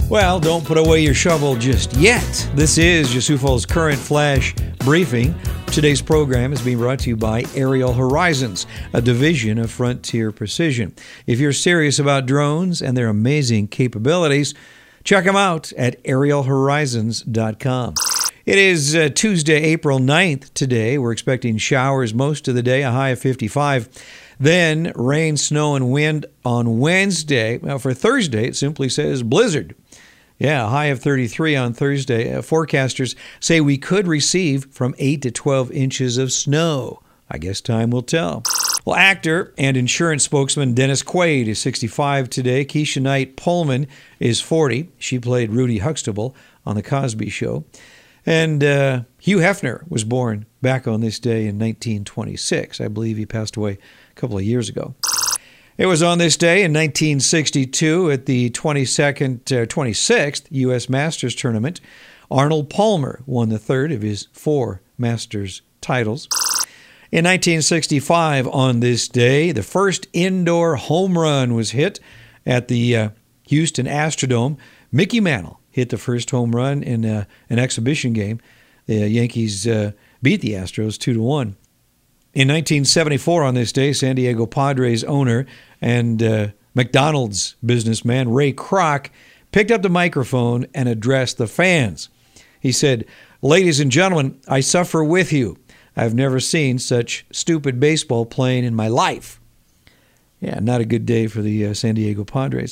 Well, don't put away your shovel just yet. This is Yusufal's Current Flash Briefing. Today's program is being brought to you by Aerial Horizons, a division of Frontier Precision. If you're serious about drones and their amazing capabilities, check them out at aerialhorizons.com. It is Tuesday, April 9th today. We're expecting showers most of the day, a high of 55. Then rain, snow, and wind on Wednesday. Well, for Thursday, it simply says blizzard. Yeah, a high of 33 on Thursday. Forecasters say we could receive from 8 to 12 inches of snow. I guess time will tell. Well, actor and insurance spokesman Dennis Quaid is 65 today. Keisha Knight Pullman is 40. She played Rudy Huxtable on The Cosby Show. And Hugh Hefner was born back on this day in 1926. I believe he passed away a couple of years ago. It was on this day in 1962 at the 26th U.S. Masters Tournament. Arnold Palmer won the third of his 4 Masters titles. In 1965, on this day, the first indoor home run was hit at the Houston Astrodome. Mickey Mantle hit the first home run in an exhibition game. The Yankees beat the Astros 2-1. In 1974, on this day, San Diego Padres owner and McDonald's businessman Ray Kroc picked up the microphone and addressed the fans. He said, "Ladies and gentlemen, I suffer with you. I've never seen such stupid baseball playing in my life." Yeah, not a good day for the San Diego Padres.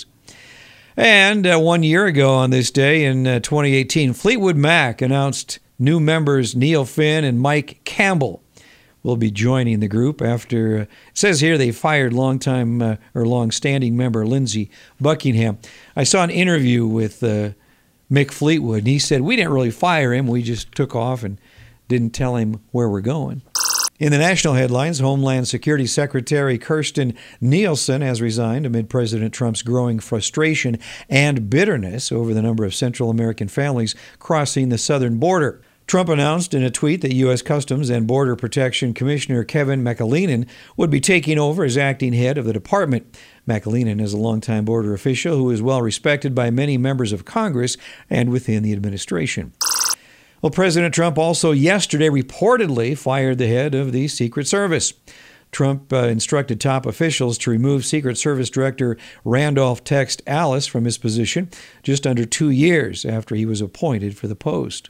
And 1 year ago on this day in 2018, Fleetwood Mac announced new members Neil Finn and Mike Campbell will be joining the group after, it says here, they fired long-standing member Lindsey Buckingham. I saw an interview with Mick Fleetwood, and he said, "We didn't really fire him. We just took off and didn't tell him where we're going." In the national headlines, Homeland Security Secretary Kirstjen Nielsen has resigned amid President Trump's growing frustration and bitterness over the number of Central American families crossing the southern border. Trump announced in a tweet that U.S. Customs and Border Protection Commissioner Kevin McAleenan would be taking over as acting head of the department. McAleenan is a longtime border official who is well respected by many members of Congress and within the administration. Well, President Trump also yesterday reportedly fired the head of the Secret Service. Trump instructed top officials to remove Secret Service Director Randolph Text Alice from his position just under 2 years after he was appointed for the post.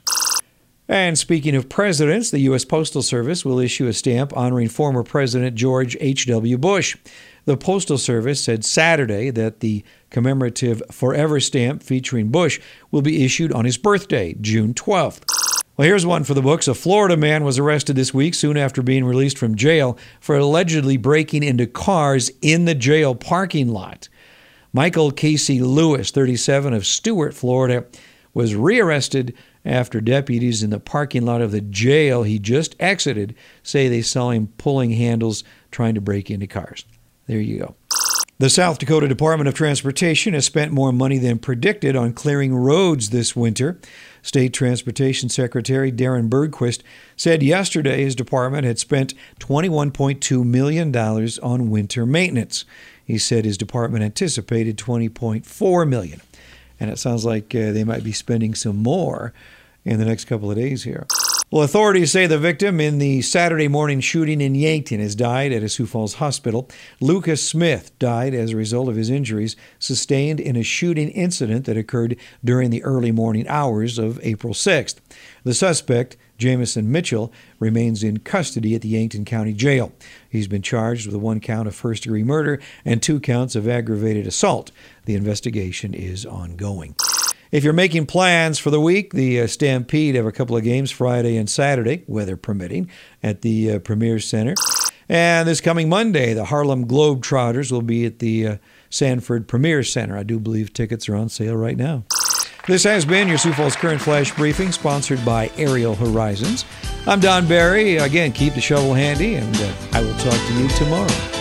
And speaking of presidents, the U.S. Postal Service will issue a stamp honoring former President George H.W. Bush. The Postal Service said Saturday that the commemorative Forever stamp featuring Bush will be issued on his birthday, June 12th. Well, here's one for the books. A Florida man was arrested this week soon after being released from jail for allegedly breaking into cars in the jail parking lot. Michael Casey Lewis, 37, of Stuart, Florida, was rearrested after deputies in the parking lot of the jail he just exited say they saw him pulling handles trying to break into cars. There you go. The South Dakota Department of Transportation has spent more money than predicted on clearing roads this winter. State Transportation Secretary Darren Bergquist said yesterday his department had spent $21.2 million on winter maintenance. He said his department anticipated $20.4 million. And it sounds like they might be spending some more in the next couple of days here. Well, authorities say the victim in the Saturday morning shooting in Yankton has died at a Sioux Falls hospital. Lucas Smith died as a result of his injuries sustained in a shooting incident that occurred during the early morning hours of April 6th. The suspect, Jamison Mitchell, remains in custody at the Yankton County Jail. He's been charged with 1 count of first-degree murder and 2 counts of aggravated assault. The investigation is ongoing. If you're making plans for the week, the Stampede have a couple of games Friday and Saturday, weather permitting, at the Premier Center. And this coming Monday, the Harlem Globetrotters will be at the Sanford Premier Center. I do believe tickets are on sale right now. This has been your Sioux Falls Current Flash Briefing, sponsored by Aerial Horizons. I'm Don Barry. Again, keep the shovel handy, and I will talk to you tomorrow.